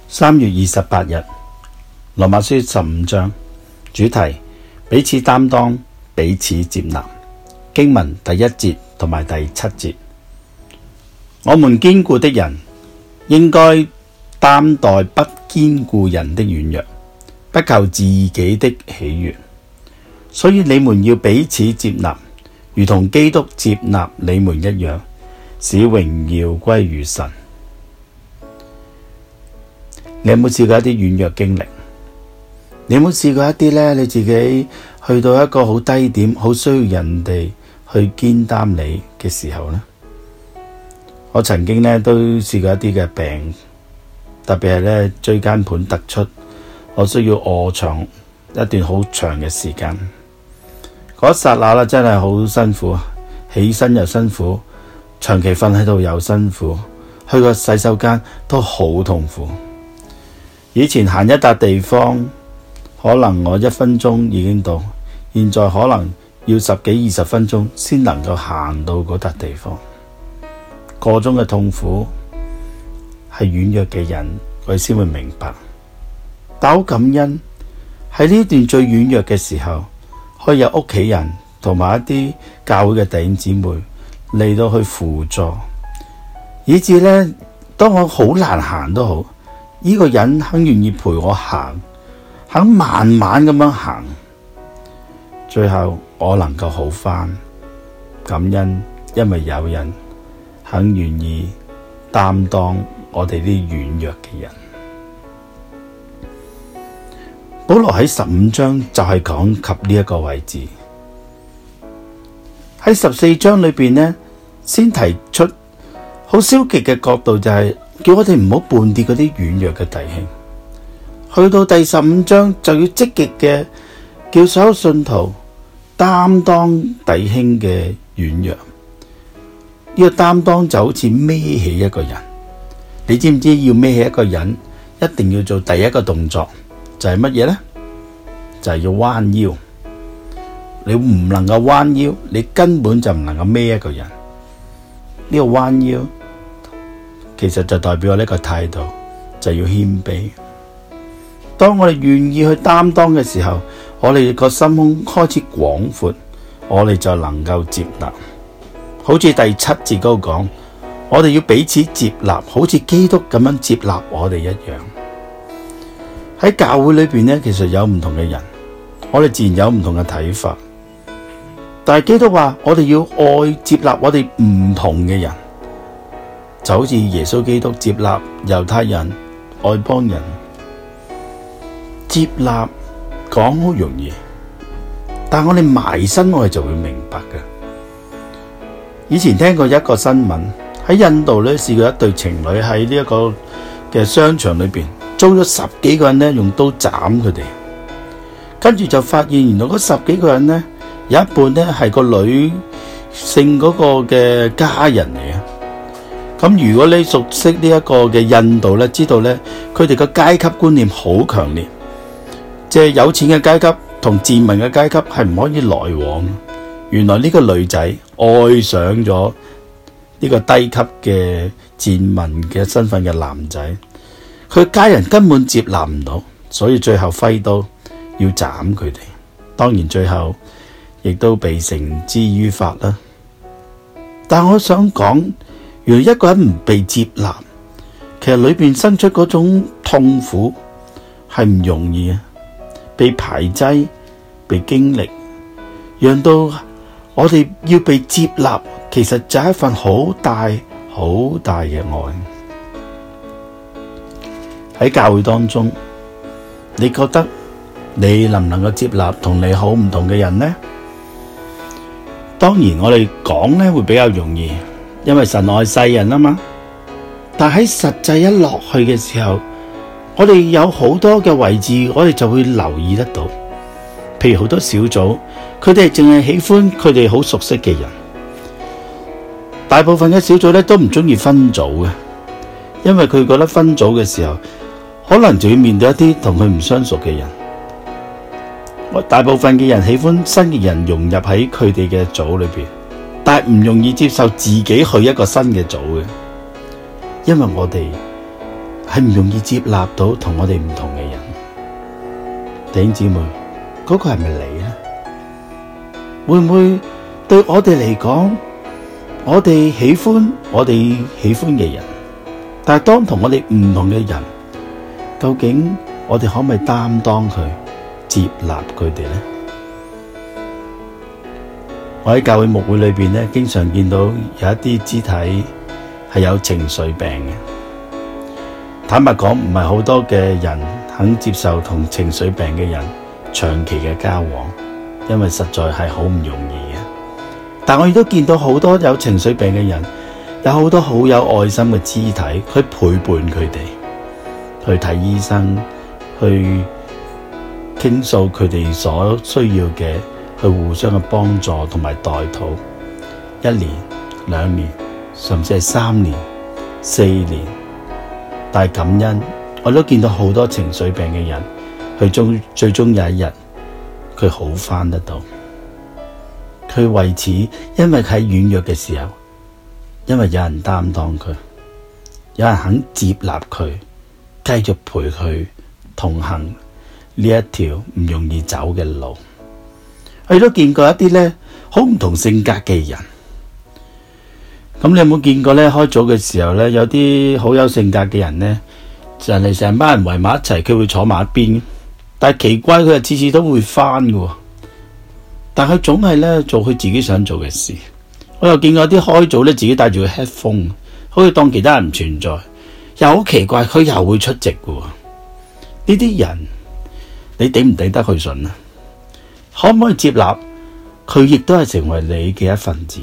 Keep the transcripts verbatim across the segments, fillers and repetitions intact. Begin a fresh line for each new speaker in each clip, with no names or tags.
三月二十八日，羅馬書十五章，主題彼此擔當，彼此接納。經文第一節同埋第七節，我們堅固的人應該擔待不堅固人的軟弱，不求自己的喜悅。所以你們要彼此接納，如同基督接納你們一樣，使榮耀歸於神。你有冇試過一啲軟弱經歷？你有冇試過一啲呢？你自己去到一個好低點，好需要人哋去肩擔你嘅時候呢？我曾經呢都試過一啲嘅病，特別係呢椎間盤突出，我需要臥床一段好長嘅時間。嗰一剎那啦，真係好辛苦，起身又辛苦，長期瞓喺度又辛苦，去個洗手間都好痛苦。以前行一笪地方，可能我一分鐘已經到，現在可能要十幾二十分鐘先能夠行到嗰笪地方。個中嘅痛苦係軟弱嘅人佢先會明白，但好感恩喺呢段最軟弱嘅時候，可以有屋企人同埋一啲教會嘅弟兄姊妹嚟到去輔助，以至呢，當我好難行都好，呢個人肯願意陪我行，肯慢慢咁樣行，最後我能夠好返。感恩，因為有人肯願意擔當我哋啲軟弱嘅人。保羅喺十五章就係講及呢一個位置，喺十四章裏邊呢，先提出好消極嘅角度，就係叫我哋唔好絆跌嗰啲軟弱嘅弟兄。去到第十五章就要積極嘅叫所有信徒擔當弟兄嘅軟弱。呢個擔當就好似孭起一個人，你知唔知要孭起一個人一定要做第一個動作就係乜嘢呢？就係要彎腰。你唔能夠彎腰，你根本就唔能夠孭一個人。呢個彎腰其實就代表我呢個態度，就要謙卑。當我哋願意去擔當嘅時候，我哋個心胸開始廣闊，我哋就能夠接納。好似第七節嗰度講，我哋要彼此接納，好似基督咁樣接納我哋一樣。喺教會裏邊呢，其實有唔同嘅人，我哋自然有唔同嘅睇法。但係基督話，我哋要愛接納我哋唔同嘅人，就好似耶穌基督接納猶太人、外邦人。接納講好容易，但我哋埋身我哋就會明白嘅。以前聽過一個新聞，喺印度咧試過一對情侶喺呢一個嘅商場裏邊租咗十幾個人咧用刀斬佢哋，跟住就發現原來嗰十幾個人咧有一半咧係個女性嗰個嘅家人嚟嘅。咁如果你熟悉呢一個嘅印度咧，知道咧佢哋個階級觀念好強烈，即係有錢嘅階級同賤民嘅階級係唔可以來往。原來呢個女仔愛上咗呢個低級嘅賤民嘅身份嘅男仔，佢家人根本接納唔到，所以最後揮刀要斬佢哋。當然最後亦都被繩之於法啦。但我想講，原來一個人唔被接納，其實裏邊生出嗰種痛苦係唔容易啊，被排擠，被經歷，讓到我哋要被接納，其實就係一份好大好大嘅愛。喺教會當中，你覺得你能唔能夠接納同你好唔同嘅人呢？當然我哋講呢會比較容易，因為神愛世人啊嘛。但喺實際一落去嘅時候，我哋有好多嘅位置，我哋就會留意得到。譬如好多小組，佢哋淨係喜歡佢哋好熟悉嘅人。大部分嘅小組咧都唔中意分組嘅，因為佢覺得分組嘅時候，可能就要面對一啲同佢唔相熟嘅人。大部分嘅人喜歡新嘅人融入喺佢哋嘅組裏邊，但係唔容易接受自己去一個新嘅組嘅，因為我哋係唔容易接納到同我哋唔同嘅人。弟兄姊妹，嗰個係咪你呢？會唔會對我哋嚟講，我哋喜歡我哋喜歡嘅人，但係當同我哋唔同嘅人，究竟我哋可唔可以擔當佢，接納佢哋呢？我喺教會牧會裏邊咧，經常見到有一啲肢體係有情緒病嘅。坦白講，唔係好多嘅人肯接受同情緒病嘅人長期嘅交往，因為實在係好唔容易嘅。但我亦都見到好多有情緒病嘅人，有好多好有愛心嘅肢體去陪伴佢哋，去睇醫生，去傾訴佢哋所需要嘅，去互相嘅幫助同埋代禱，一年、兩年，甚至係三年、四年。但係感恩，我都見到好多情緒病嘅人，佢終最終有一日，佢好返得到。佢為此，因為佢喺軟弱嘅時候，因為有人擔當佢，有人肯接納佢，繼續陪佢同行呢一條唔容易走嘅路。我亦都見過一啲咧好唔同性格嘅人。咁你有冇見過咧？開組嘅時候咧，有啲好有性格嘅人咧，就嚟成班人圍埋一齊，佢會坐埋一邊。但係奇怪，佢係次次都會翻嘅。但係佢總係咧做佢自己想做嘅事。我又見過啲開組咧，自己帶住個 headphone，好似當其他人唔存在。又好奇怪，佢又會出席嘅。呢啲人，你頂唔頂得佢順啊？可唔可以接納佢？亦都係成為你嘅一份子。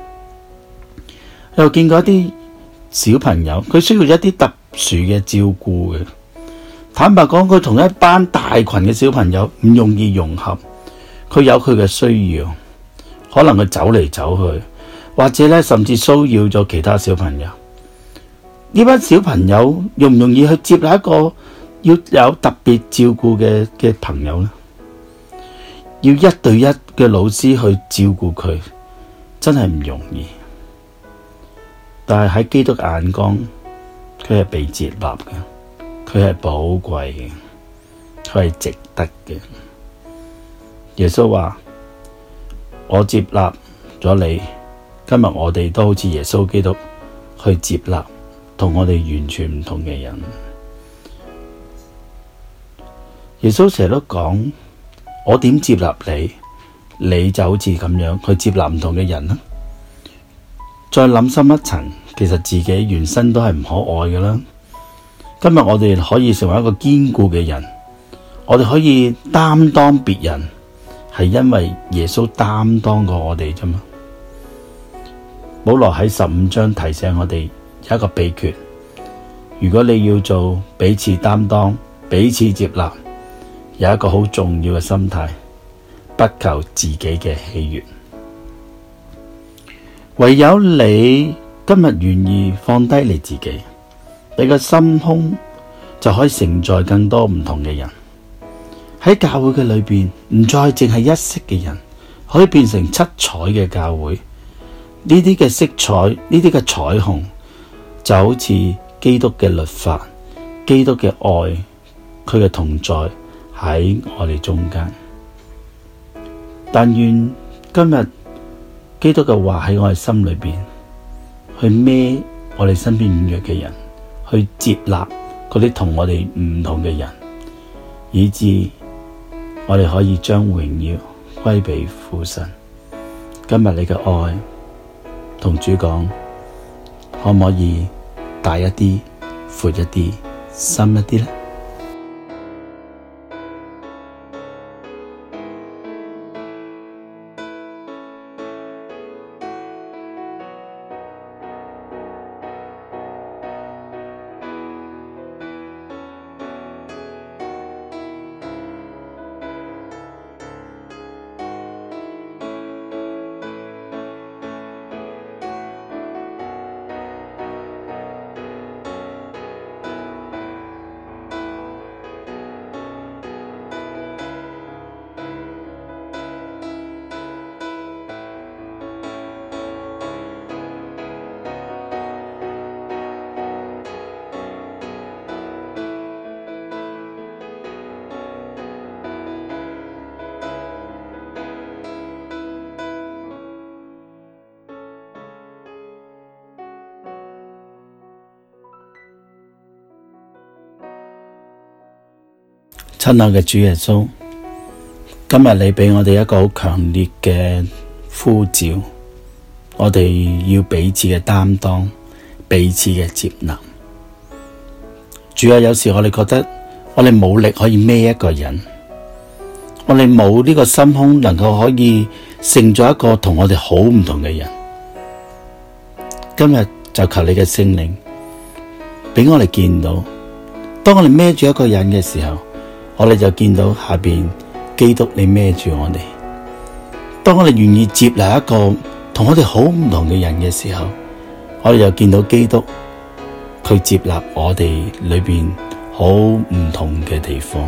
又見過一啲小朋友，佢需要一啲特殊嘅照顧嘅。坦白講，佢同一班大群嘅小朋友唔容易融合，佢有佢嘅需要，可能佢走嚟走去，或者咧甚至騷擾咗其他小朋友。呢班小朋友容唔容易去接納一個要有特別照顧嘅嘅朋友呢？要一對一嘅老師去照顧佢，真係唔容易。但係喺基督眼光，佢係被接納嘅，佢係寶貴嘅，佢係值得嘅。耶穌話：我接納咗你，今日我哋都好似耶穌基督去接納同我哋完全唔同嘅人。耶穌成日都講：我點接納你，你就好似咁樣去接納唔同嘅人啦。再諗深一層，其實自己原身都係唔可愛嘅啦。今日我哋可以成為一個堅固嘅人，我哋可以擔當別人，係因為耶穌擔當過我哋啫嘛。保羅喺十五章提醒我哋有一個秘訣：如果你要做彼此擔當、彼此接納，有一個好重要嘅心態，不求自己嘅喜悅。唯有你今日願意放低你自己，你個心胸就可以承載更多唔同嘅人。喺教會嘅裏邊，唔再淨係一色嘅人，可以變成七彩嘅教會。呢啲嘅色彩，呢啲嘅彩虹，就好似基督嘅律法、基督嘅愛，佢嘅同在喺我哋中間。但願今日基督嘅話喺我哋心裏邊，去孭我哋身邊軟弱嘅人，去接納嗰啲同我哋唔同嘅人，以致我哋可以將榮耀歸俾父神。今日你嘅愛同主講，可唔可以大一啲、闊一啲、深一啲呢？ 親愛嘅主耶穌，今日你俾我哋一個好強烈嘅呼召，我哋要彼此嘅擔當，彼此嘅接納。主啊，有時我哋覺得我哋冇力可以孭一個人，我哋冇呢個心胸能夠可以勝咗一個同我哋好唔同嘅人。今日就求你嘅聖靈俾我哋見到，當我哋孭住一個人嘅時候，我哋就見到下邊基督你孭住我哋。當我哋願意接納一個同我哋好唔同嘅人嘅時候，我哋就見到基督佢接納我哋裏邊好唔同嘅地方。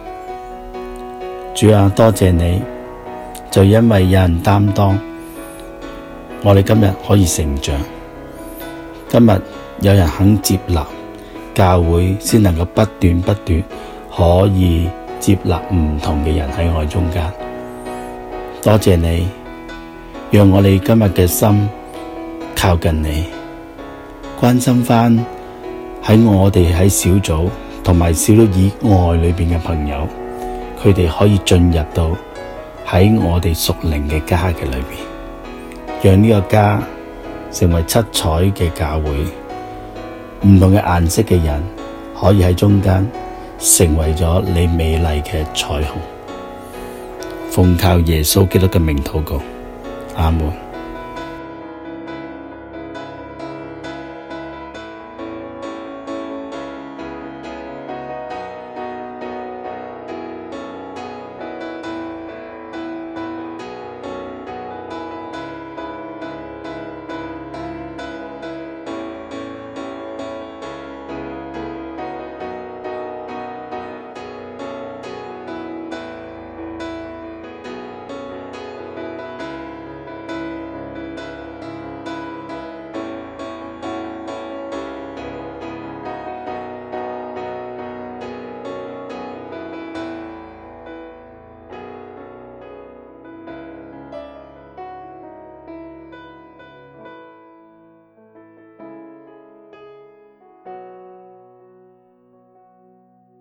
主啊，多謝你，就因為有人擔當，我哋今日可以成長。今日有人肯接納，教會先能夠不斷不斷可以接納唔同嘅人喺我哋中間。多謝你，讓我哋今日嘅心靠近你，關心翻喺我哋喺小組同埋小組以外裏邊嘅朋友，佢哋可以進入到喺我哋屬靈嘅家嘅裏邊，讓呢個家成為七彩嘅教會，唔同嘅顏色嘅人可以喺中間成為咗你美麗嘅彩虹。奉靠耶穌基督嘅名禱告，阿門。